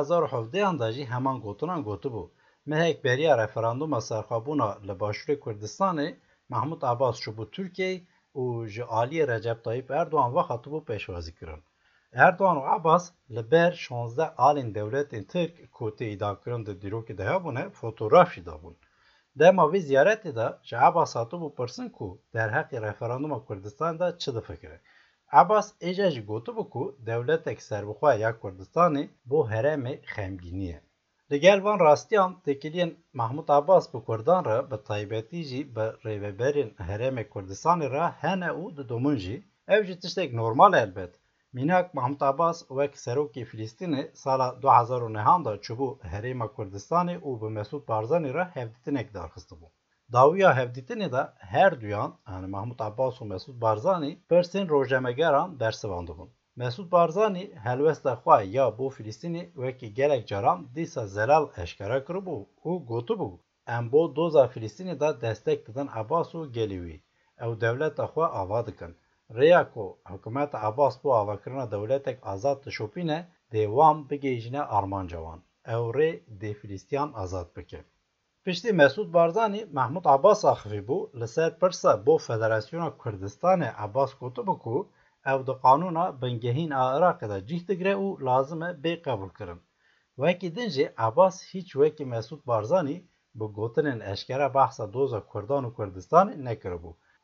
2017 da jî heman gotinan gotibû. Mehek beriya referanduma serxwebûna li Başûrê Kurdistanê, Mahmud Abbas çûbû Tirkiyeyê û ji aliyê Recep Tayyip Erdogan ve hatibû pêşwazîkirin. Erdogan û Abbas li ber 16 alên dewletên Tirk ku tê îdakirin di dîrokê de hebûne fotoğraf jî dabûn. Dema vê ziyaretê de ji Abbas hatibû pirsin ku derheqê referanduma Kurdistanê de çi difikire. Abbas êja jî gotibû ku dewletek serbixwe ya Kurdistanê bo herêmê xemgînî ye. Li gel van rastiyan têkiliyên Mahmud Abbas bi Kurdan re bi taybetî jî bi rêveberên herêmê Kurdistanê re hene û didomin jî, ev jî tiştek normal e elbet. Mînak Mahmud Abbas wek serokê Filîstînê sala 2009 da çûbû herêma Kurdistanê û bi Mesûd Barzanî re hevdîtinek darxistibû. Dawiya hevdîtinê de her duyan yani Mahmud Abbas û Mesûd Barzanî pirsên rojnamegeran bersivandibûn. Mesûd Barzanî helwesta xwe ya bo Filîstînê wekî gelek caran dîsa zelal eşkere kiribû û gotibû em bo doza Filîstînê de destek didin Abbas û gelê wî. Ew dewleta xwe ava dikin. Rêya ku hikûmeta Abbas bo avakirina dewletek azad dişopîne dê wan bigêjine armanca wan. Ew rê dê Filîstiyan azad bike. Piştî Mesûd Barzanî Mahmud Abbas axivîbû li ser pirsa bo Federasyona Kurdistanê Abbas gotibû ku ew di qanûna bingehîn a Iraqê de cih digire û lazim e bê qebûl kirin. Wekî din jî Abbas hîç wekî Mesûd Barzanî bi gotinên eşkere behsa doza Kurdan û Kurdistanê nekiribû.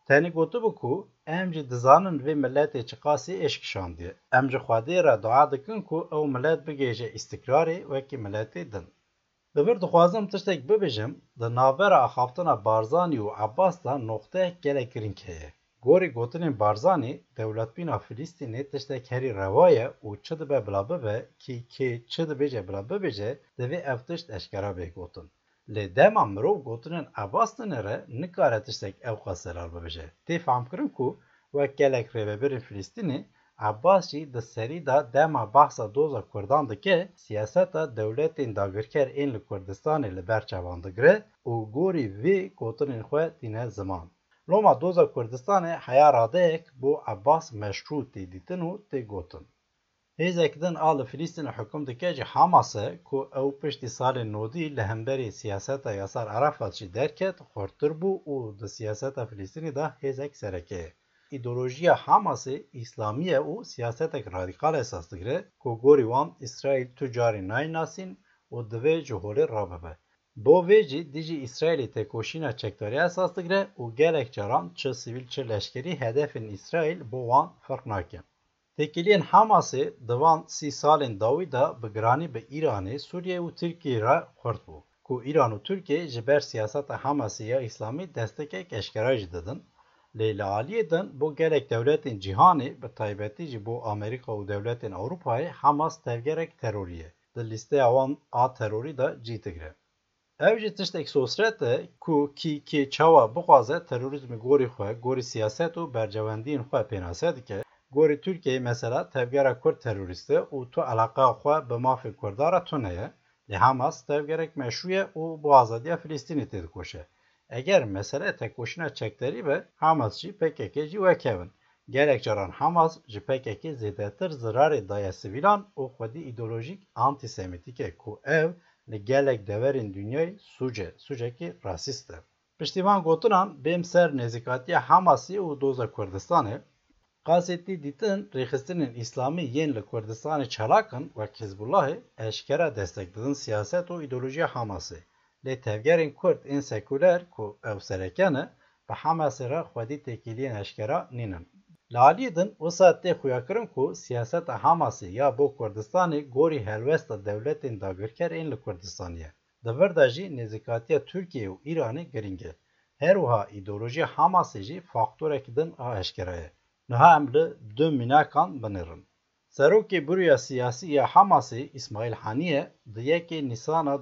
Tenê gotibu ku em jî dizanin vê milletê çi qasî eşk şandiye. Em ji Xwedê re dua dikin ku ew millet bigêje îstiqrarê wekî milletê din. Li vir dixwazim tiştek bibêjim, di navbera axaftina Barzanî û Abbas da noxteyek gelek girîng heye. Gorî gotinên Barzanî, dewletbîna Filîstînê tiştek herî reva ye û çi dibe bila bibe kî kê çi dibêje bila bibêje, divê ev tişt eşkera bê gotin. Lê dema mirov gotinên Abbas dinê re nikare tiştek ew qas zelal bibêje. Tê famkirin ku wek gelek rêveberên Filîstînê, Abbas jî di serî da dema behsa doza Kurdan dike, siyaseta dewletên dagirker ên li Kurdistanê li ber çavan digire û gorî vê gotinên xwe tîne ziman. Loma doza Kurdistanê heya radeyek bo Abbas meşru tê dîtin û tê gotin. Hêzek din a li Filîstînê hukm dike ji Hamasê ku ew piştî salên nodî li hemberî siyaseta Yasar Arafat jî derket, xurttir bû û di siyaseta Filîstînê de hêzek sereke ye. İdeolojiya Hamasê İslamî ye û siyasetek radîkal esas digire ku gorî wan İsraîl tu carî nayînasîn û divê ji holê rabibe. Bo vê jî dijî İsraîlê têkoşîna çekdariya esas digire û gelek caran çi sivîl çi leşkerî hedefên İsraîl bo wan ferq nake. Têkiliyên Hamasê di van 30 salên dawî da bi giranî bi Îranê, Sûriye û Tirkiyeyê re xurt bû ku Îran û Tirkiye ji ber siyaseta Hamasê ya İslamî destekek eşkera jî didin. Lê li aliyê din bo gelek dewletên cîhanê bi taybetî jî bo Amerîka û dewletên Ewropayê Hamas tevgerek terorî ye. Di lîsteya wan a terorî de cî digire. Ev jî tiştek sosret e ku kê çawa bixwaze terorîzmê gorî xwe, gorî siyaset û bercewendiyên xwe pênase dike. Gorî Tirkiyeyê mesela tevgera Kurd terorîst e û tu eleqeya xwe bi mafê Kurdan re tune. Lê Hamas tevgerek meşru ye û bi azadiya Filîstînê tê dikoşe. Eger mesele tekoşîna çekderî be, Hamas jî PKK jî wekevin. Gelek caran Hamas ji PKK zêdetir zirarê daye sivîlan û xwedî îdeolojîk antisemîtîk e ku ev li gelek deverên dünyayê sucekî rasîst e. Piştîvan gotinan bêm ser nêzîkatiya Hamasî û doza Kurdistanê, qasîtî dîtin rêxistinên İslamî yên li Kurdistanê çalakin wek Hizbullahê eşkera destek didin siyaset û îdeolojiya Hamasê. Lê tevgerên Kurd ên sekûler ku ew sereke ne, bi Hamasê re xwedî têkiliyên eşkera nînin. Li aliyê din wisa tê xuyakirin ku siyaseta Hamasê ya bo Kurdistanê gorî helwesta dewletên dagirker ên li Kurdistanê ye. Di vir de jî nêzîkatiya Tirkiye û Îranê giring e. Her wiha îdeolojiya Hamasê jî faktorek din a eşkera ye. Niha em li du mînakan binêrin. Serokê Bûrûya Siyasî ya Hamasê İsmail Haniyê di yekê Nîsana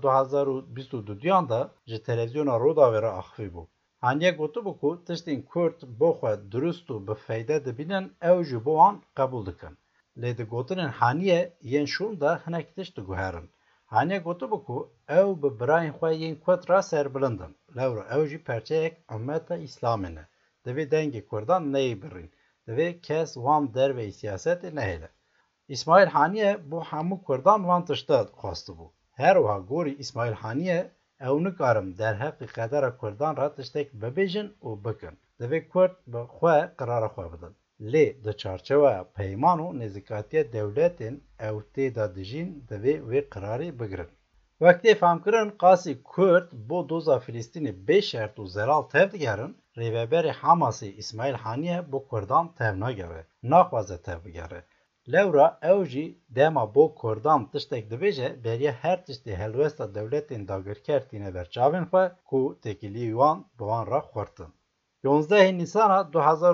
2022 da ji televizyona Roda ve re axivî bû. Haniyê gotibû ku tiştên Kurd bo xwe durust û bi feyde dibînin ew ji bo wan qebûl dikin. Lê di gotinên Haniyê yên şûn de hinek tişt diguherin. Haniyê gotibû ku ew bi birayên xwe yên Kurd re serbilindin. Lewra ew jî perçeyek ummeta İslamê ne. Divê dengê Kurdan neyê birîn. Divê kes wan derveyê siyasetê nehêle. İsmail Haniyê bo hemû Kurdan wan tişta xwastibû. Her wiha gorî İsmail Haniyê ew nikarin derheqê qedera Kurdan re tiştek bibêjin û bikin. Divê Kurd bi xwe qirara xwe bidin. Lê di çarçeveya peyman û nêzîkatiya dewletên ew tê de dijîn divê wê qirarê bigirin. Wek tê famkirin qasî Kurd bo doza Filîstînê bê şert û zelal tev digerin, rêveberê Hamasê İsmail Haniyê bo Kurdan tev nagere, naxwaze tev bigere. Lewra ew jî dema bo Kurdan tiştek dibêje beriya her tiştê helwesta dewletên dagirker tîne ber çavên xwe ku têkiliyê wan bi wan re xurtin. 11 Nîsana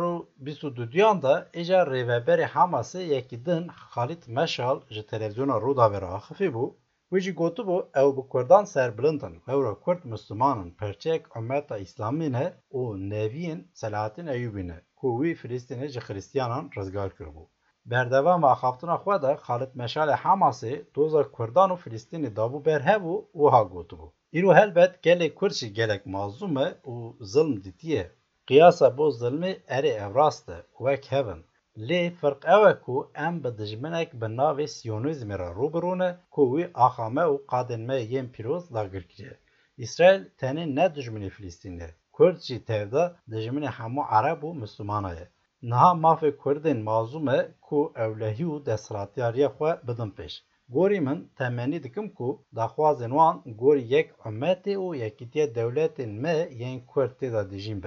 2022 da îja rêveberê Hamasê yekî din Xalîd Meşal ji televizyona Roda ve re axivî bû. Wî jî gotibû ew bi Kurdan serbilindin. Lewra Kurd Müslümanin perçeyek ummeta İslamî ne û neviyên Selahattin Eyyûbî ne ku wî Filîstînê ji Xristiyanan rizgar kiribû. Berdewama axaftina xwe de Xalîd Meşalê Hamasê doza Kurdan û Filîstînê dabû berhev û wiha gotibû. Îro helbet gelê Kurd jî gelek mazlûm e û zilm dîtiye. Qiyasa bo zilmê erê ev rast e, wek hevin. Lê firq ew e ku em bi dijminek bi navê Siyonîzmê re rûbirû ne ku wî axa me û qadên me yên pîroz dagir kiriye. İsraîl tenê ne dijminê Filîstînê. Kurd jî tevda dijminê hemû Ereb û Müslûmanan ye. Niha mafê Kurdên mazlûm e ku ewlehî û desthilatiyariya xwe bidin pêş. Gorî min temennî dikim ku daxwazên wan gorî yek ummetê û yekîtiya dewletên me yên Kurd tê de dijîn be.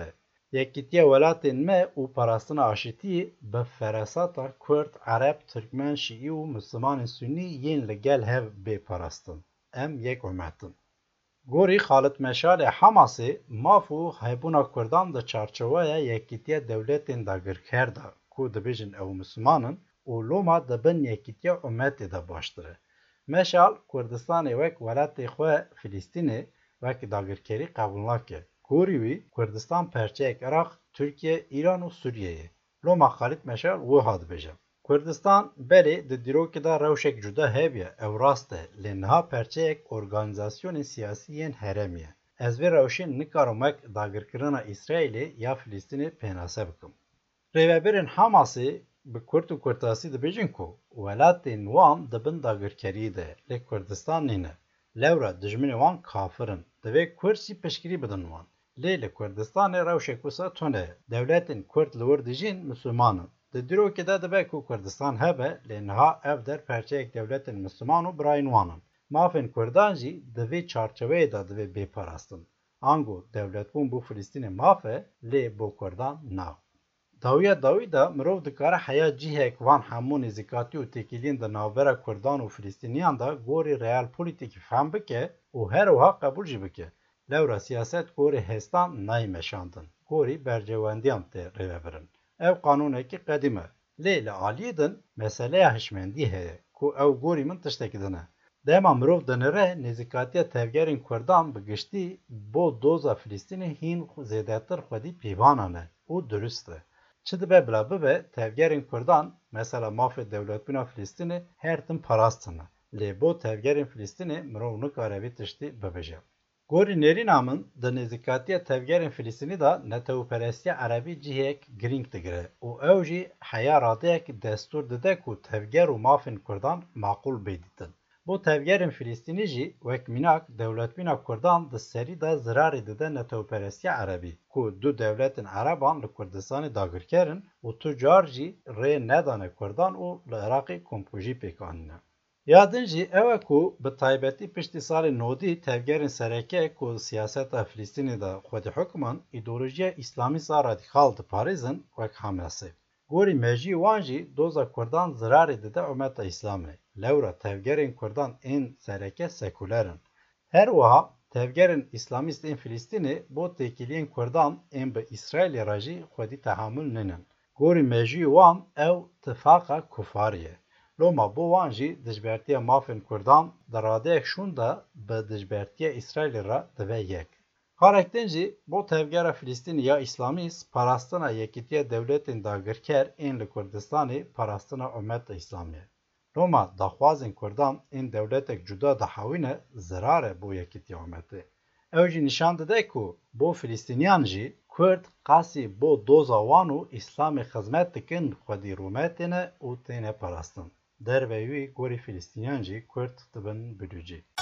Yekîtiya welatên me û parastina aşîtiyê bi feresata Kurd, Ereb, Tirkmen, Şîî û Mislimanên Sunnî yên li gel hev bê parastin. Em yek umetin. Gorî Xalit Meşalê Hamasê maf û hebûna Kurdan di çarçoveya Yekîtiya Dewletên Dagirker da ku dibêjin ew Mislimanin û loma dibin Yekîtiya Umetê de baştir e. Meşal Kurdistanê wek welatê xwe Filîstînê wek dagirkerî qebûl nake. Gorî wî Kurdistan perçeyek Iraq, Tirkiye, İran û Sûriyeyê. Loma Xalit Meşal wiha dibêje. Kurdistan belê di dîrokê de rewşek cuda hebe ew rast e lê niha perçeyek organîzasyonên siyasî yên herêmî ye. Ez vê rewşê nikarim wek dagirkirina İsraîlê ya Filîstînê pênase bikim. Rêveberên Hamasê bi Kurd û Kurtasî dibêjin ku welatên wan dibin dagirkeriyê de lê Kurdistan nîne. Lewra dijminê wan kafirin. Divê Kurd jî piştgirî bidin wan. Lê li Kurdistanê rewşek wisa tune ye. Dewletên Kurd li wir dijîn Mislimanin. Di dîrokê de dibe ku Kurdistan hebe lê niha ev der perçeyek dewletên Misliman û birayên wan in. Mafên Kurdan jî di vê çarçoveyê de divê bêparastin. Ango dewletbûn bû Filîstînê maf e lê bû Kurdan na. Dawiya dawî de mirov dikare heya cihek van hemû nêzîkatî û têkiliyên di navbera Kurdan û Filîstîniyan de gorî realpolitîkî fehm bike û her wiha qebûl jî bike. Lewra siyaset gorî hestan nayê meşandin. Gorî bercewendiyan tê rêvebirin. Ev qanûnekî qedîm e. Lê li aliyê din meseleya hişmendî heye ku ew gorî min tiştekî din e. Dema mirov dinire nêzîkatiya tevgerên Kurdan bi giştî bo doza Filîstînê hîn zêdetir xwedî pîvanan e û durist e. Çi dibe bila bibe tevgerên Kurdan mesela mafê dewletbûna Filîstînê her tim parastin e. Lê bo tevgerên Filîstînê mirov nikare vê tiştî bibêje. Gorî nêrîna min di nêzîkatiya tevgerên Filîstînî de netewperestiya Erebî cihek girîng digire û ew jî heya radeyek destûr dide ku tevger û mafên Kurdan maqûl bêdîtin. Bo tevgerên Filîstînî jî wek mînak dewletbûna Kurdan di serî de zirarê dide netewperestiya Erebî ku du dewletên Ereban li Kurdistanê dagirkerin û tu car jî rê nedane Kurdan û li Iraqê kompojî pêkanîne. Yadin jî ew e ku bi taybetî piştî salê nodî tevgerên sereke ku siyaseta Filîstînê de xwedî hukman îdeolojiya îslamîsta radîkal diparêzin wek Hamasê. Gorî mejiyê wan jî doza Kurdan zirarê dide umeta Îslamê. Lewra tevgerên Kurdan ên sereke sekûler in. Her wiha tevgerên îslamîst ên Filîstînê bo têkiliyên Kurdan ên bi İsraîlê re jî xwedî tehamûl ninin. Gorî mejiyê wan ew tifaqa kufarî ye. Loma bo wan jî dijbertiya mafên Kurdan di radeyek şûn de bi dijbertiya İsraîlê re dibe yek. Karek din jî bo tevgera Filîstînê ya îslamîst parastina Yekîtiya Dewletên Dagirker ên li Kurdistanê parastina umeta Îslamî ye. Loma daxwazên Kurdan ên dewletek cuda dihewîne zirar e bo Yekîtiya umetê. Ew jî nîşan dide ku bo Filîstîniyan jî Kurd qasî bo doza wan û Îslamê xizmet dikin xwedî rûmetê ne û têne parastin. Derve wî gorî Filîstîniyan jî Kurd dibin bilûcî.